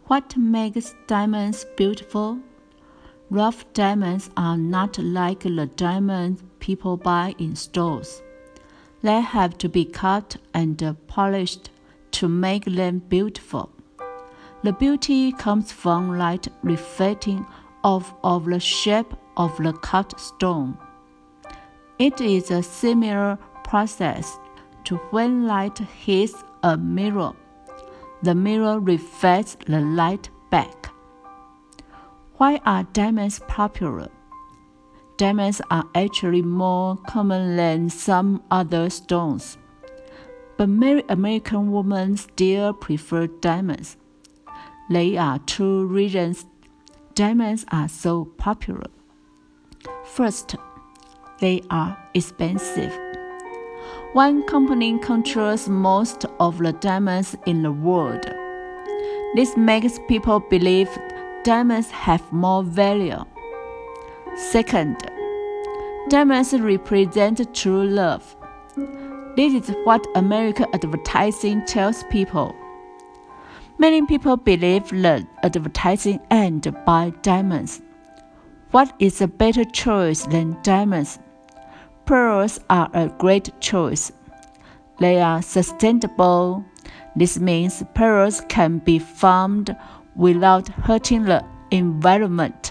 What makes diamonds beautiful? Rough diamonds are not like the diamonds people buy in stores. They have to be cut and polished to make them beautiful. The beauty comes from light reflecting off of the shape of the cut stone. It is a similar process to when light hits a mirror. The mirror reflects the light back. Why are diamonds popular? Diamonds are actually more common than some other stones, but many American women still prefer diamonds. There are two reasons diamonds are so popular. First, they are expensive. One company controls most of the diamonds in the world. This makes people believe diamonds have more value. Second, diamonds represent true love. This is what American advertising tells people. Many people believe that advertising and buy diamonds. What is a better choice than diamonds? Pearls are a great choice. They are sustainable. This means pearls can be farmed without hurting the environment.